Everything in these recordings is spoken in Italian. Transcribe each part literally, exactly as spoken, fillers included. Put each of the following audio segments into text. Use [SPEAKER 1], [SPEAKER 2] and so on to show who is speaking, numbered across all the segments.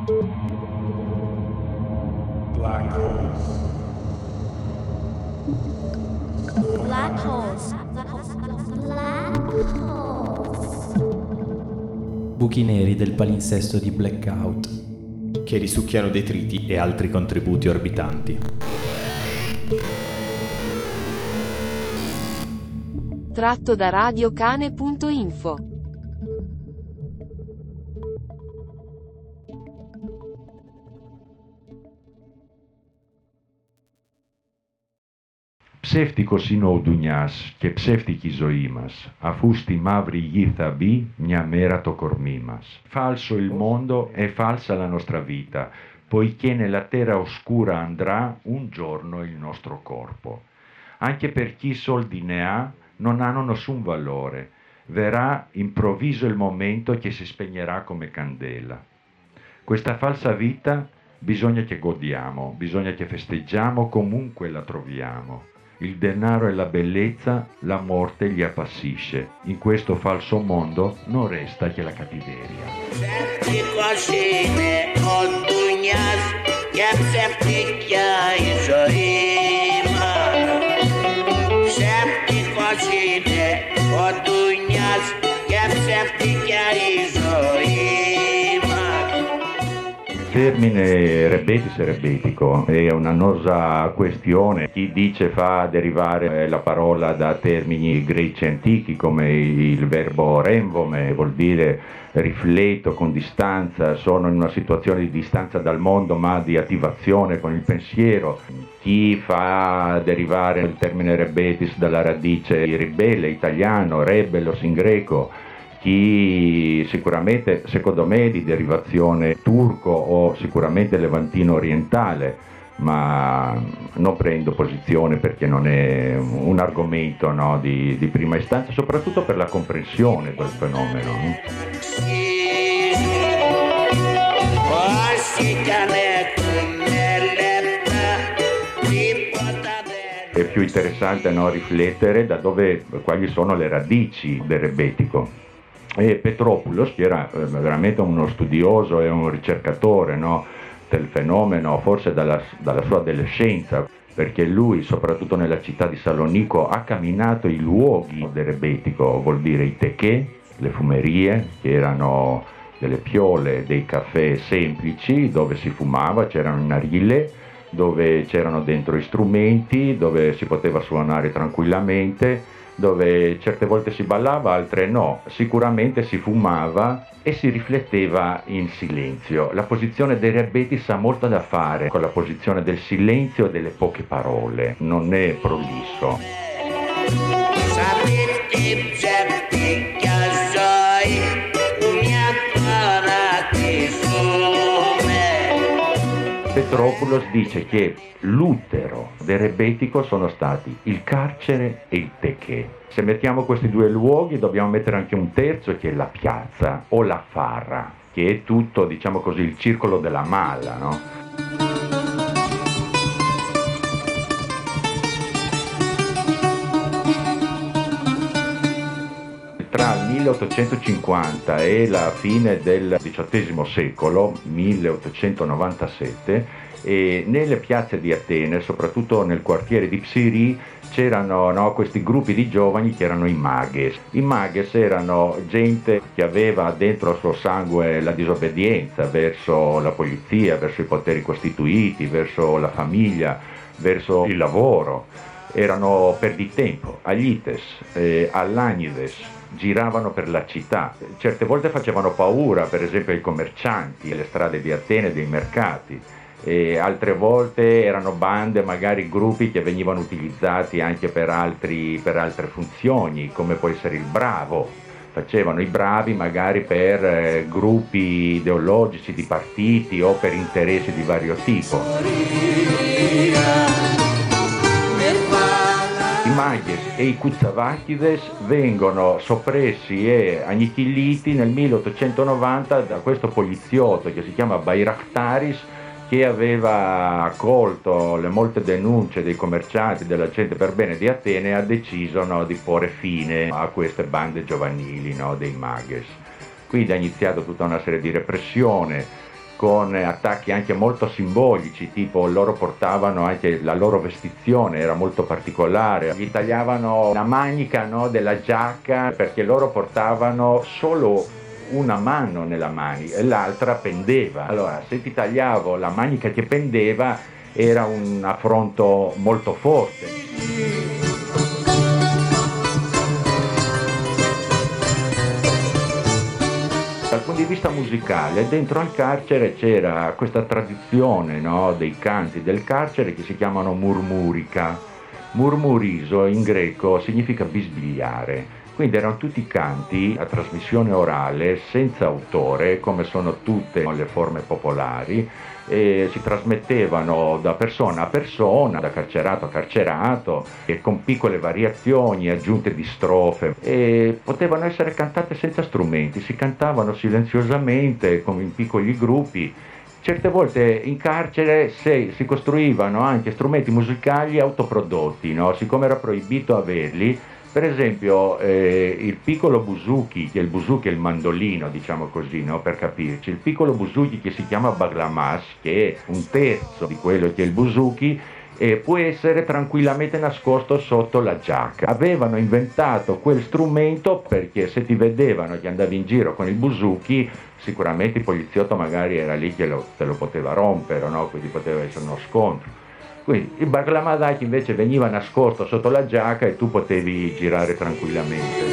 [SPEAKER 1] Black holes.
[SPEAKER 2] Black holes. Black holes.
[SPEAKER 3] Buchi neri del palinsesto di Blackout,
[SPEAKER 4] che risucchiano detriti e altri contributi orbitanti.
[SPEAKER 5] Tratto da radiocane punto info.
[SPEAKER 6] Ψεύτικος είναι ο Ντουνιάς και ψεύτικη ζωή μας, αφού στη μαύρη γη θα μπει μια μέρα το κορμί μας. Falso il mondo e falsa la nostra vita, poiché nella terra oscura andrà un giorno il nostro corpo. Anche per chi soldi ne ha, non hanno nessun valore. Verrà improvviso il momento che si spegnerà come candela. Questa falsa vita bisogna che godiamo, bisogna che festeggiamo comunque la troviamo. Il denaro e la bellezza, la morte li appassisce. In questo falso mondo non resta che la cattiveria. Il termine rebetis e rebetico è un'annosa questione. Chi dice fa derivare la parola da termini greci antichi come il verbo remvome, vuol dire rifletto con distanza, sono in una situazione di distanza dal mondo ma di attivazione con il pensiero. Chi fa derivare il termine rebetis dalla radice ribelle italiano, rebellos in greco, chi sicuramente, secondo me, di derivazione turco o sicuramente levantino orientale, ma non prendo posizione perché non è un argomento, no, di, di prima istanza, soprattutto per la comprensione del fenomeno. È più interessante, no, riflettere da dove, quali sono le radici del rebetico. E Petropoulos, che era eh, veramente uno studioso e un ricercatore, no, del fenomeno, forse dalla, dalla sua adolescenza, perché lui, soprattutto nella città di Salonico, ha camminato i luoghi del rebetico, vuol dire i techè, le fumerie, che erano delle piole, dei caffè semplici, dove si fumava, c'erano i narile, dove c'erano dentro i strumenti, dove si poteva suonare tranquillamente, dove certe volte si ballava, altre no, sicuramente si fumava e si rifletteva in silenzio. La posizione dei rebetis ha molto da fare con la posizione del silenzio e delle poche parole, non è prolisso. Petropoulos dice che l'utero del rebetico sono stati il carcere e il techè. Se mettiamo questi due luoghi dobbiamo mettere anche un terzo, che è la piazza o la farra, che è tutto, diciamo così, il circolo della mala, no? Tra il milleottocentocinquanta e la fine del diciottesimo secolo, milleottocentonovantasette, e nelle piazze di Atene, soprattutto nel quartiere di Psiri, c'erano, no, questi gruppi di giovani che erano i mages. I mages erano gente che aveva dentro il suo sangue la disobbedienza verso la polizia, verso i poteri costituiti, verso la famiglia, verso il lavoro. Erano perditempo, aglites, eh, all'agnides, giravano per la città. Certe volte facevano paura, per esempio ai commercianti, alle strade di Atene, dei mercati. E altre volte erano bande, magari gruppi che venivano utilizzati anche per, altri, per altre funzioni, come può essere il bravo. Facevano i bravi magari per eh, gruppi ideologici di partiti o per interessi di vario tipo. I mages e i kutsavakides vengono soppressi e annichiliti nel milleottocentonovanta da questo poliziotto che si chiama Bayraktaris, che aveva accolto le molte denunce dei commercianti, della gente per bene di Atene, e ha deciso, no, di porre fine a queste bande giovanili, no, dei mages. Quindi ha iniziato tutta una serie di repressione, con attacchi anche molto simbolici, tipo loro portavano anche la loro vestizione, era molto particolare, gli tagliavano la manica, no, della giacca perché loro portavano solo una mano nella manica e l'altra pendeva. Allora, se ti tagliavo la manica che pendeva era un affronto molto forte. Dal punto di vista musicale, dentro al carcere c'era questa tradizione, no, dei canti del carcere che si chiamano murmurica. Murmuriso in greco significa bisbigliare. Quindi erano tutti canti a trasmissione orale, senza autore, come sono tutte le forme popolari, e si trasmettevano da persona a persona, da carcerato a carcerato, e con piccole variazioni, aggiunte di strofe, e potevano essere cantate senza strumenti, si cantavano silenziosamente, come in piccoli gruppi. Certe volte in carcere se, si costruivano anche strumenti musicali autoprodotti, no? Siccome era proibito averli. Per esempio eh, il piccolo buzuki, che è il buzuki è il mandolino, diciamo così, no? Per capirci, il piccolo buzuki che si chiama baglamas, che è un terzo di quello che è il buzuki, eh, può essere tranquillamente nascosto sotto la giacca. Avevano inventato quel strumento perché se ti vedevano che andavi in giro con il buzuki, sicuramente il poliziotto magari era lì che lo, te lo poteva rompere, no? Quindi poteva essere uno scontro. Quindi il baglamadaki invece veniva nascosto sotto la giacca e tu potevi girare tranquillamente.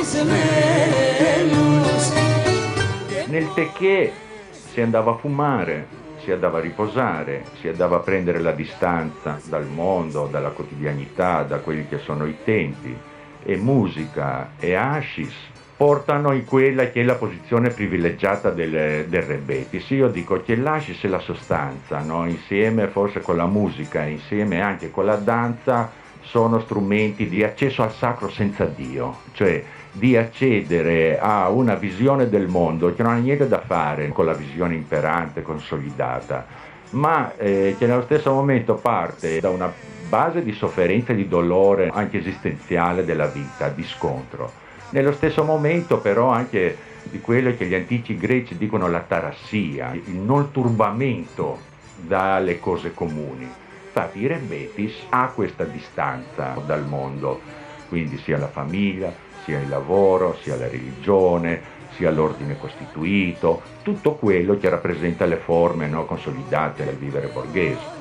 [SPEAKER 6] Nel teché si andava a fumare, si andava a riposare, si andava a prendere la distanza dal mondo, dalla quotidianità, da quelli che sono i tempi. E musica e hashish portano in quella che è la posizione privilegiata del, del rebetis. Io dico che l'hashish è la sostanza, no? Insieme forse con la musica, insieme anche con la danza, sono strumenti di accesso al sacro senza Dio, cioè di accedere a una visione del mondo che non ha niente da fare con la visione imperante, consolidata, ma eh, che nello stesso momento parte da una base di sofferenza e di dolore anche esistenziale della vita, di scontro. Nello stesso momento però anche di quello che gli antichi greci dicono la tarassia, il non turbamento dalle cose comuni. Infatti il rebetis ha questa distanza dal mondo, quindi sia la famiglia, sia il lavoro, sia la religione, sia l'ordine costituito, tutto quello che rappresenta le forme, no, consolidate del vivere borghese.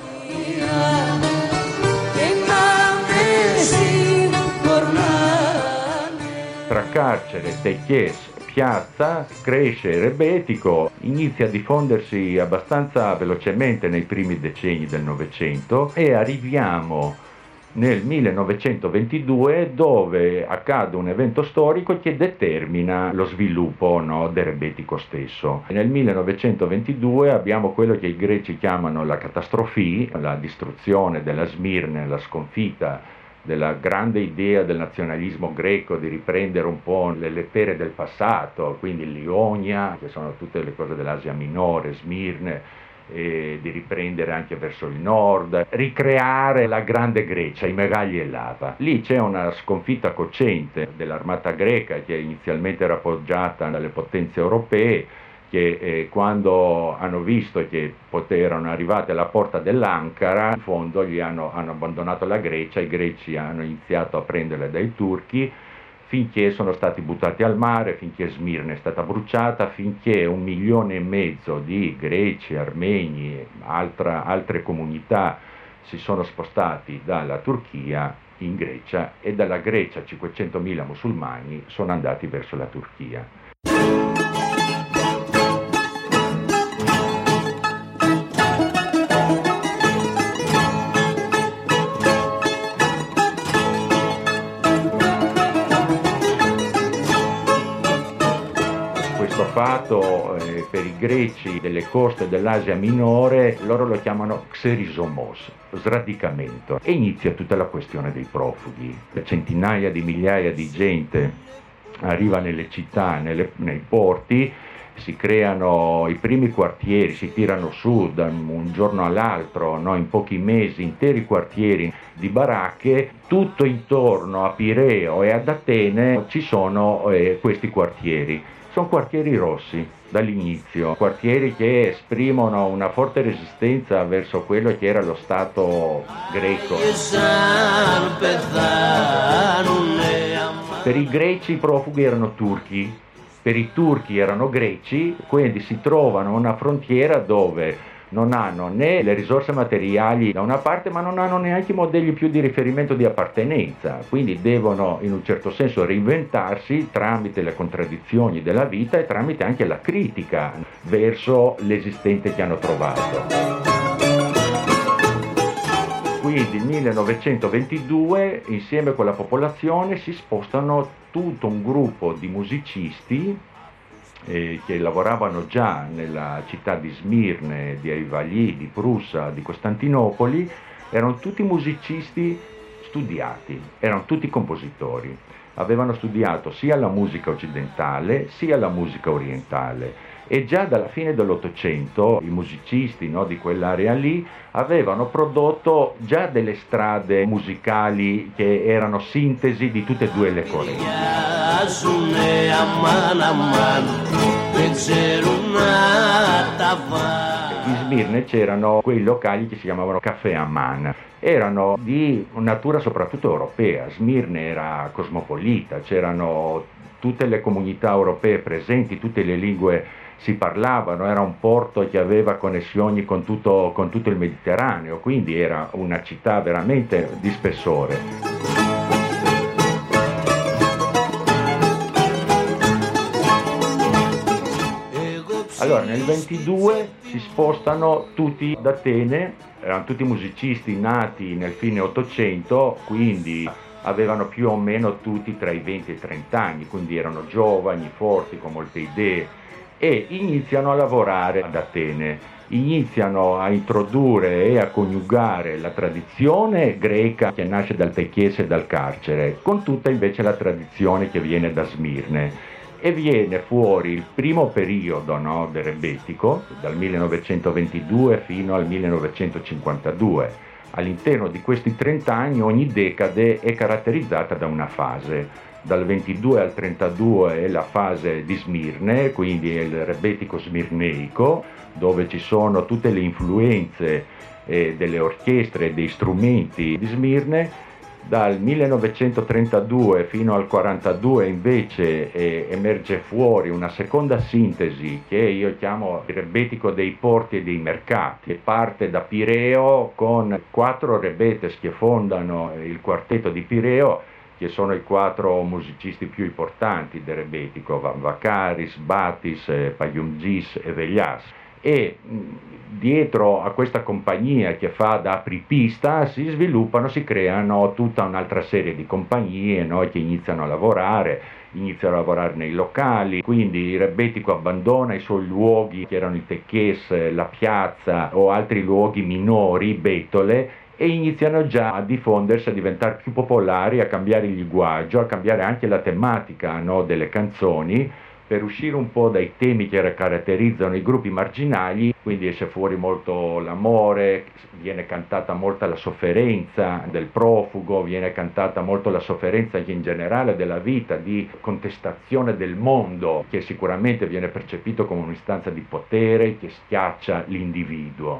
[SPEAKER 6] Tra carcere, techies, piazza, cresce il rebetico, inizia a diffondersi abbastanza velocemente nei primi decenni del Novecento e arriviamo nel millenovecentoventidue dove accade un evento storico che determina lo sviluppo, no, del rebetico stesso. Nel millenovecentoventidue abbiamo quello che i greci chiamano la catastrofì, la distruzione della Smirne, la sconfitta della grande idea del nazionalismo greco di riprendere un po' le lettere del passato, quindi l'Ionia, che sono tutte le cose dell'Asia Minore, Smirne, e di riprendere anche verso il nord, ricreare la grande Grecia, i Megagli e l'Ava. Lì c'è una sconfitta cocente dell'armata greca che inizialmente era appoggiata dalle potenze europee, che eh, quando hanno visto che erano arrivate alla porta dell'Ankara, in fondo gli hanno, hanno abbandonato la Grecia, i greci hanno iniziato a prenderle dai turchi, finché sono stati buttati al mare, finché Smirne è stata bruciata, finché un milione e mezzo di greci, armeni e altra, altre comunità si sono spostati dalla Turchia in Grecia e dalla Grecia cinquecentomila musulmani sono andati verso la Turchia. Fatto eh, per i greci delle coste dell'Asia Minore, loro lo chiamano xerisomos, sradicamento, e inizia tutta la questione dei profughi. Centinaia di migliaia di gente arriva nelle città, nelle, nei porti, si creano i primi quartieri, si tirano su da un giorno all'altro, no, in pochi mesi, interi quartieri di baracche. Tutto intorno a Pireo e ad Atene ci sono eh, questi quartieri. sono quartieri rossi dall'inizio, quartieri che esprimono una forte resistenza verso quello che era lo Stato greco. Per i greci i profughi erano turchi, per i turchi erano greci, quindi si trovano a una frontiera dove non hanno né le risorse materiali da una parte, ma non hanno neanche i modelli più di riferimento di appartenenza, quindi devono in un certo senso reinventarsi tramite le contraddizioni della vita e tramite anche la critica verso l'esistente che hanno trovato. Quindi nel millenovecentoventidue, insieme con la popolazione, si spostano tutto un gruppo di musicisti eh, che lavoravano già nella città di Smirne, di Aivalli, di Prussa, di Costantinopoli. Erano tutti musicisti studiati, erano tutti compositori. Avevano studiato sia la musica occidentale sia la musica orientale. E già dalla fine dell'Ottocento i musicisti, no, di quell'area lì avevano prodotto già delle strade musicali che erano sintesi di tutte e due le correnti. In Smirne c'erano quei locali che si chiamavano Caffè Amman, erano di natura soprattutto europea. Smirne era cosmopolita, c'erano tutte le comunità europee presenti, tutte le lingue si parlavano, era un porto che aveva connessioni con tutto, con tutto il Mediterraneo, quindi era una città veramente di spessore. Allora nel ventidue si spostano tutti ad Atene, erano tutti musicisti nati nel fine Ottocento, quindi avevano più o meno tutti tra i venti e i trenta anni, quindi erano giovani, forti, con molte idee, e iniziano a lavorare ad Atene, iniziano a introdurre e a coniugare la tradizione greca che nasce dal Techiese e dal carcere, con tutta invece la tradizione che viene da Smirne. E viene fuori il primo periodo, no, del rebettico, dal millenovecentoventidue fino al millenovecentocinquantadue. All'interno di questi trenta anni ogni decade è caratterizzata da una fase. Dal ventidue al trentadue è la fase di Smirne, quindi è il rebettico smirneico, dove ci sono tutte le influenze eh, delle orchestre e dei strumenti di Smirne. Dal millenovecentotrentadue fino al quarantadue invece eh, emerge fuori una seconda sintesi che io chiamo il rebettico dei porti e dei mercati, che parte da Pireo con quattro rebetes che fondano il quartetto di Pireo, che sono i quattro musicisti più importanti del rebettico, Vakaris, Batis, Payumgis e Velias. E dietro a questa compagnia che fa da apripista si sviluppano, si creano tutta un'altra serie di compagnie, no, che iniziano a lavorare, iniziano a lavorare nei locali, quindi il rebettico abbandona i suoi luoghi che erano il Techies, la piazza o altri luoghi minori, betole, e iniziano già a diffondersi, a diventare più popolari, a cambiare il linguaggio, a cambiare anche la tematica, no, delle canzoni, per uscire un po' dai temi che caratterizzano i gruppi marginali. Quindi esce fuori molto l'amore, viene cantata molta la sofferenza del profugo, viene cantata molto la sofferenza anche in generale della vita, di contestazione del mondo, che sicuramente viene percepito come un'istanza di potere che schiaccia l'individuo.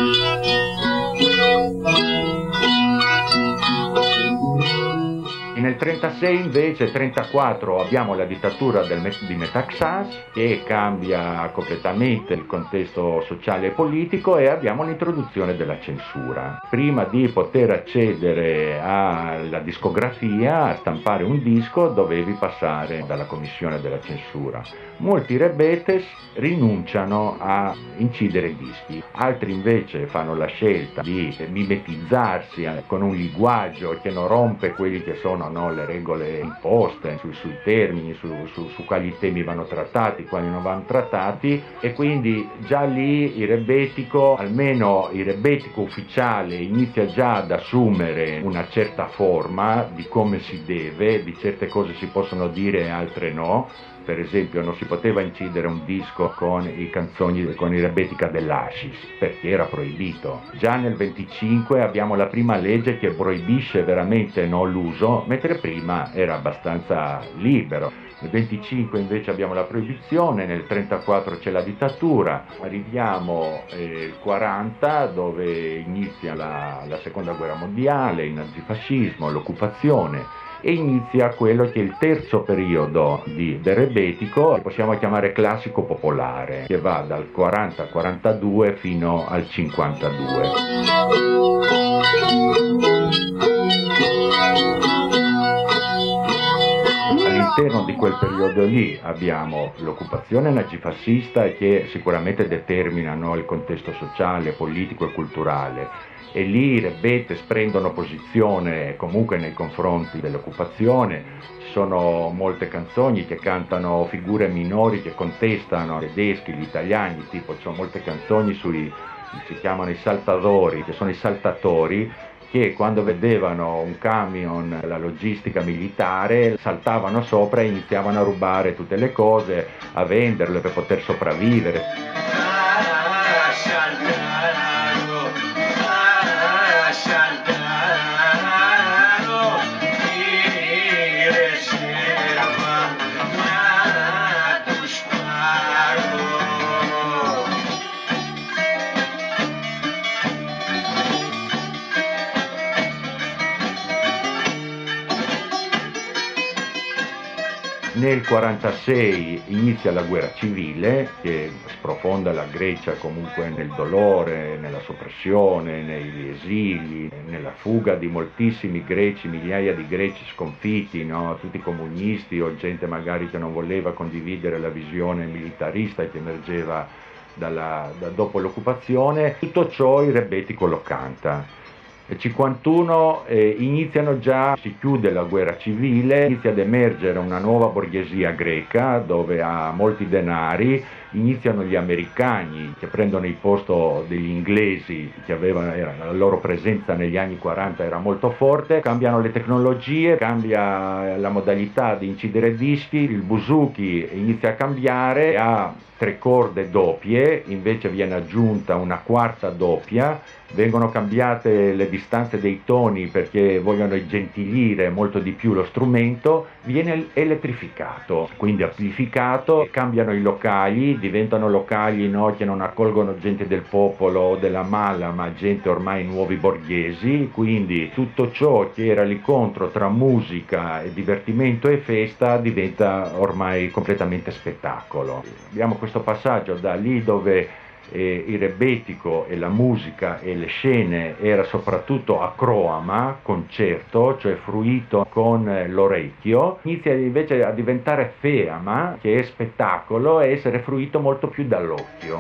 [SPEAKER 6] Nel trentasei invece, trentaquattro, abbiamo la dittatura del, di Metaxas che cambia completamente il contesto sociale e politico, e abbiamo l'introduzione della censura. Prima di poter accedere alla discografia, a stampare un disco, dovevi passare dalla commissione della censura. Molti rebetes rinunciano a incidere i dischi, altri invece fanno la scelta di mimetizzarsi con un linguaggio che non rompe quelli che sono, no, le regole imposte su, sui termini, su, su, su quali temi vanno trattati, quali non vanno trattati, e quindi già lì il rebettico, almeno il rebettico ufficiale, inizia già ad assumere una certa forma di come si deve, di certe cose si possono dire e altre no, Per esempio non si poteva incidere un disco con i canzoni, con i Rebetica dell'Hashish, perché era proibito. Già nel venticinque abbiamo la prima legge che proibisce veramente no, l'uso, mentre prima era abbastanza libero. Nel venticinque invece abbiamo la proibizione, nel trentaquattro c'è la dittatura, arriviamo al eh, quaranta dove inizia la, la seconda guerra mondiale, il nazifascismo, l'occupazione, e inizia quello che è il terzo periodo di, del rebetico, che possiamo chiamare classico popolare, che va dal quaranta al quarantadue fino al cinquantadue. All'interno di quel periodo lì abbiamo l'occupazione nazifascista che sicuramente determinano il contesto sociale, politico e culturale, e lì i Rebetes prendono posizione comunque nei confronti dell'occupazione. Ci sono molte canzoni che cantano figure minori che contestano i tedeschi, gli italiani, tipo ci sono molte canzoni sui, si chiamano i saltatori, che sono i saltatori, che quando vedevano un camion, la logistica militare, saltavano sopra e iniziavano a rubare tutte le cose, a venderle per poter sopravvivere. Nel quarantasei inizia la guerra civile che sprofonda la Grecia comunque nel dolore, nella soppressione, negli esili, nella fuga di moltissimi greci, migliaia di greci sconfitti, no? Tutti comunisti o gente magari che non voleva condividere la visione militarista che emergeva dalla, da, dopo l'occupazione. Tutto ciò il Rebetico lo canta. Nel cinquantuno eh, iniziano già, si chiude la guerra civile, inizia ad emergere una nuova borghesia greca dove ha molti denari, iniziano gli americani che prendono il posto degli inglesi che avevano, era, la loro presenza negli anni quaranta era molto forte, cambiano le tecnologie, cambia la modalità di incidere dischi, il buzuki inizia a cambiare, ha tre corde doppie, invece viene aggiunta una quarta doppia, vengono cambiate le distanze dei toni perché vogliono gentilire molto di più lo strumento, viene elettrificato, quindi amplificato, cambiano i locali, diventano locali no, che non accolgono gente del popolo o della mala, ma gente ormai nuovi borghesi, quindi tutto ciò che era l'incontro tra musica e divertimento e festa diventa ormai completamente spettacolo. Abbiamo questo passaggio da lì dove eh, il rebetico e la musica e le scene era soprattutto acroama, concerto, cioè fruito con eh, l'orecchio, inizia invece a diventare feama, che è spettacolo, e essere fruito molto più dall'occhio.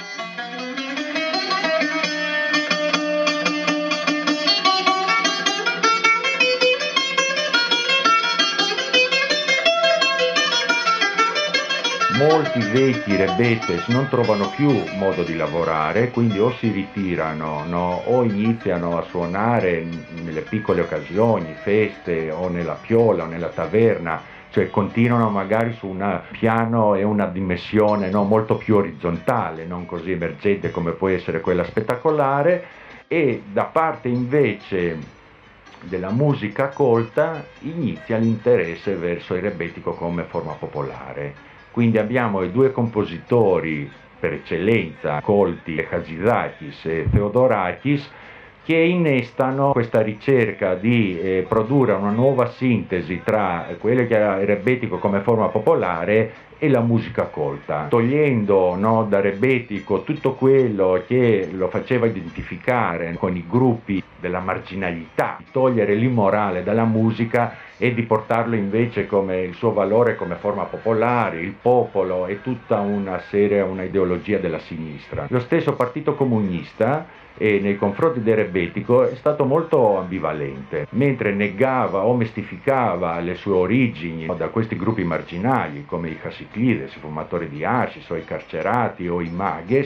[SPEAKER 6] Molti vecchi rebetes non trovano più modo di lavorare, quindi o si ritirano no? o iniziano a suonare nelle piccole occasioni, feste o nella piola o nella taverna, cioè continuano magari su un piano e una dimensione no? molto più orizzontale, non così emergente come può essere quella spettacolare, e da parte invece della musica colta inizia l'interesse verso il rebetico come forma popolare. Quindi abbiamo i due compositori per eccellenza, colti, Hadzidakis e Theodorakis, che innestano questa ricerca di eh, produrre una nuova sintesi tra quello che era il rebetico come forma popolare e la musica colta, togliendo no, da rebetico tutto quello che lo faceva identificare con i gruppi della marginalità, togliere l'immorale dalla musica e di portarlo invece come il suo valore come forma popolare, il popolo e tutta una serie, una ideologia della sinistra. Lo stesso Partito Comunista e nei confronti del rebetico è stato molto ambivalente, mentre negava o mistificava le sue origini da questi gruppi marginali come i Hassiclides, i fumatori di hashish o i carcerati o i maghes,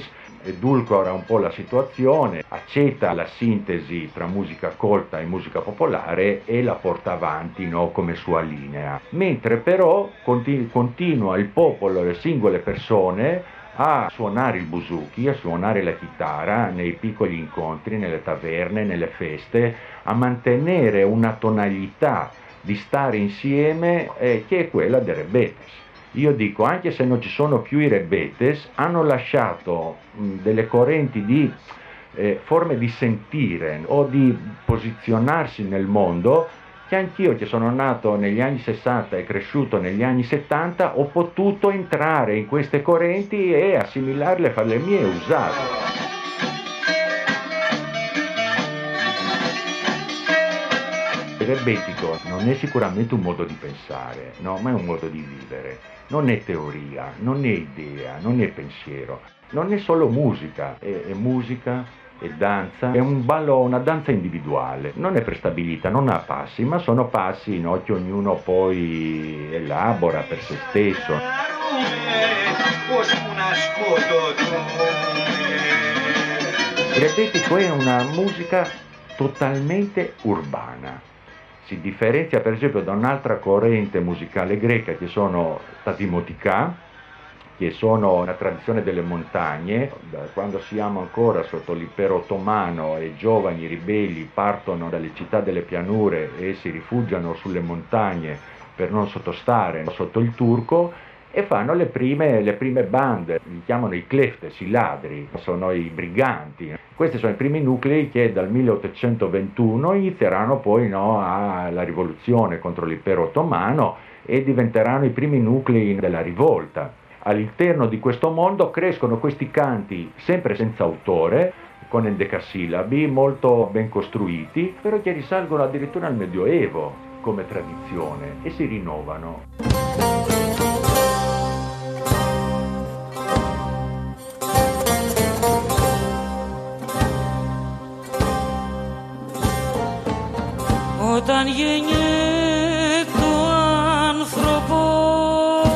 [SPEAKER 6] edulcora un po' la situazione, accetta la sintesi tra musica colta e musica popolare e la porta avanti, no, come sua linea. Mentre però continu- continua il popolo, le singole persone, a suonare il buzuki, a suonare la chitarra nei piccoli incontri, nelle taverne, nelle feste, a mantenere una tonalità di stare insieme eh, che è quella dei Rebetes. Io dico, anche se non ci sono più i Rebetes, hanno lasciato mh, delle correnti di eh, forme di sentire o di posizionarsi nel mondo che anch'io, che sono nato negli anni sessanta e cresciuto negli anni settanta, ho potuto entrare in queste correnti e assimilarle, farle mie e usarle. Il rebetico non è sicuramente un modo di pensare, no, ma è un modo di vivere. Non è teoria, non è idea, non è pensiero, non è solo musica, è, è musica, è danza, è un ballo, una danza individuale, non è prestabilita, non ha passi, ma sono passi, no, che ognuno poi elabora per se stesso. Il rebetico è una musica totalmente urbana. Si differenzia per esempio da un'altra corrente musicale greca che sono Tatimotika, che sono una tradizione delle montagne. Da quando siamo ancora sotto l'impero ottomano e giovani ribelli partono dalle città delle pianure e si rifugiano sulle montagne per non sottostare sotto il turco, e fanno le prime, le prime bande, li chiamano i kleftes, i ladri, sono i briganti. Questi sono i primi nuclei che dal milleottocentoventuno inizieranno poi, no, alla rivoluzione contro l'impero ottomano e diventeranno i primi nuclei della rivolta. All'interno di questo mondo crescono questi canti sempre senza autore, con endecasillabi molto ben costruiti, però che risalgono addirittura al Medioevo come tradizione e si rinnovano.
[SPEAKER 7] Όταν γεννιέται ο άνθρωπος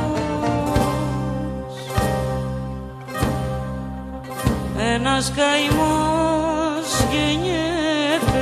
[SPEAKER 7] ένας καημός γεννιέται.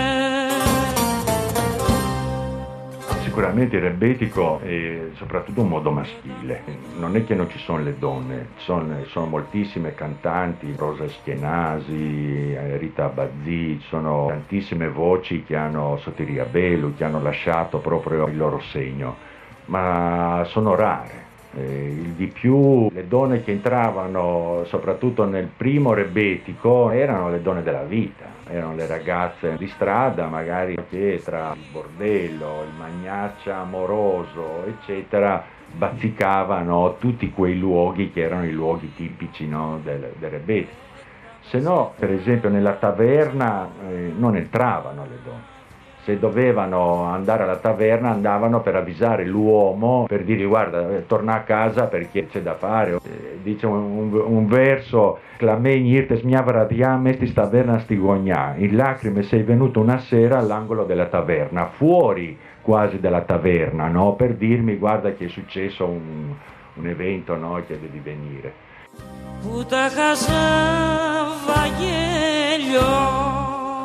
[SPEAKER 6] Sicuramente il rebetico è soprattutto un modo maschile, non è che non ci sono le donne, sono, sono moltissime cantanti, Rosa Eschenasi, Rita Abbazzi, sono tantissime voci che hanno Sotiria Belu, che hanno lasciato proprio il loro segno, ma sono rare. Eh, il di più, le donne che entravano soprattutto nel primo rebetico erano le donne della vita, erano le ragazze di strada, magari che tra il bordello, il magnaccia amoroso, eccetera, bazzicavano tutti quei luoghi che erano i luoghi tipici, no, del, del rebetico. Se no, per esempio, nella taverna eh, non entravano le donne. Se dovevano andare alla taverna andavano per avvisare l'uomo, per dirgli guarda, eh, torna a casa perché c'è da fare. Eh, dice un, un, un verso, Clamegni irtes mia vradiam estis taverna stigogna, in lacrime sei venuto una sera all'angolo della taverna, fuori quasi della taverna, no? Per dirmi guarda che è successo un, un evento, no? Che devi venire.
[SPEAKER 7] Puta casa Vanghelio.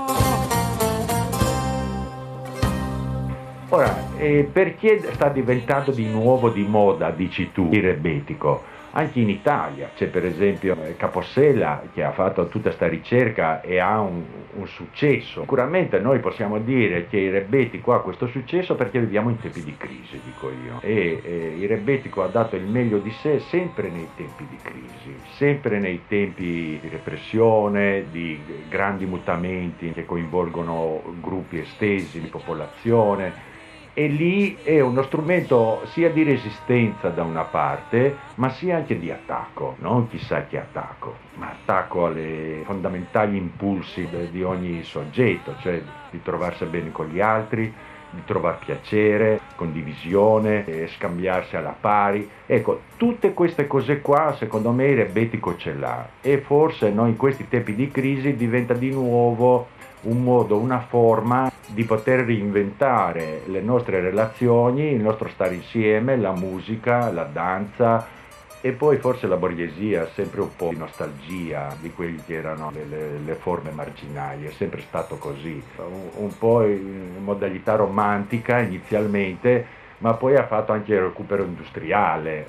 [SPEAKER 6] Ora, eh, perché sta diventando di nuovo di moda, dici tu, il rebetico? Anche in Italia c'è per esempio Capossela che ha fatto tutta questa ricerca e ha un, un successo. Sicuramente noi possiamo dire che il rebetico ha questo successo perché viviamo in tempi di crisi, dico io, e eh, il rebetico ha dato il meglio di sé sempre nei tempi di crisi, sempre nei tempi di repressione, di grandi mutamenti che coinvolgono gruppi estesi di popolazione. E lì è uno strumento sia di resistenza da una parte, ma sia anche di attacco, non chissà che attacco, ma attacco alle fondamentali impulsi di ogni soggetto, cioè di trovarsi bene con gli altri, di trovare piacere, condivisione, eh, scambiarsi alla pari. Ecco, tutte queste cose qua secondo me il rebetico ce l'ha, e forse no, in questi tempi di crisi diventa di nuovo un modo, una forma di poter reinventare le nostre relazioni, il nostro stare insieme, la musica, la danza, E poi forse la borghesia, sempre un po' di nostalgia di quelli che erano le, le, le forme marginali, è sempre stato così, un, un po' in modalità romantica inizialmente, ma poi ha fatto anche il recupero industriale.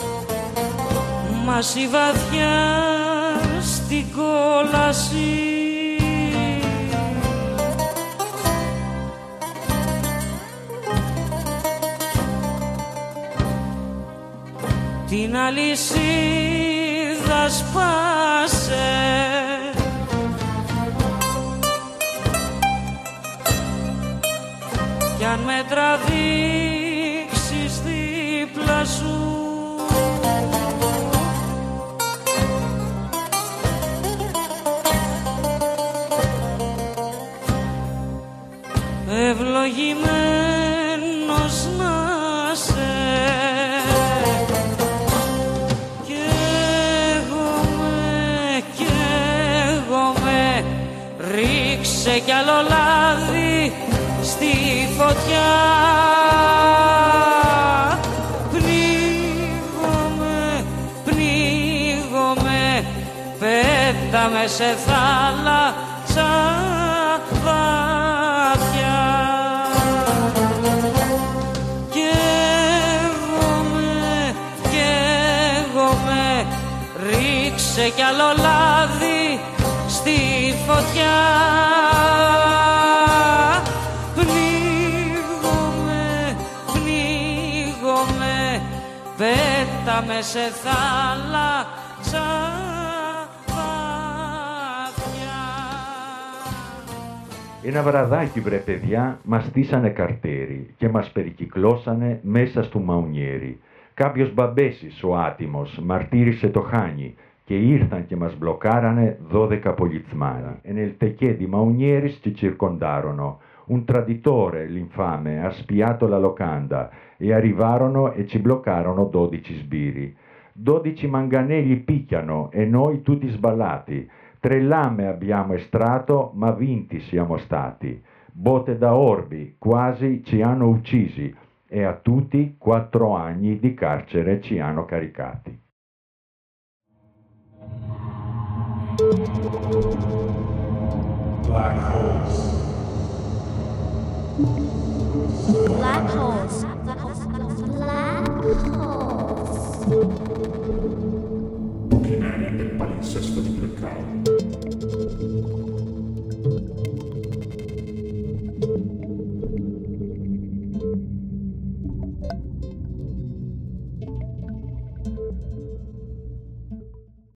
[SPEAKER 7] Μα η βαθιά στην κόλαση την αλυσίδα σπάσε κι αν με τραβήξεις δίπλα σου ευλογημένος να σε καίγομαι, καίγομαι ρίξε κι άλλο λάδι στη φωτιά πνίγομαι, πνίγομαι πέταμε σε θάλασσα βαθιά καίγομαι, καίγομαι ρίξε κι άλλο λάδι στη φωτιά πνίγομαι, πνίγομαι πέταμε σε θάλασσα
[SPEAKER 6] Ένα βραδάκι βρε παιδιά μας στήσανε καρτέρι και μας περικυκλώσανε μέσα στου μαουνιέρι. Κάποιος μπαμπέσης ο άτιμος μαρτύρησε το χάνι και ήρθαν και μας μπλοκάρανε δώδεκα πολιτσμani. E nel teché di Maunieris ci circondarono. Un traditore, l'infame, ha spiato la locanda e arrivarono e ci bloccarono dodici sbirri. Dodici manganelli picchiano e noi tutti sballati. Tre lame abbiamo estratto, ma vinti siamo stati. Botte da orbi, quasi ci hanno uccisi e a tutti quattro anni di carcere ci hanno caricati.
[SPEAKER 1] Black holes.
[SPEAKER 2] Black holes. Black holes.
[SPEAKER 1] Buchi neri del palinsesto di Blackout.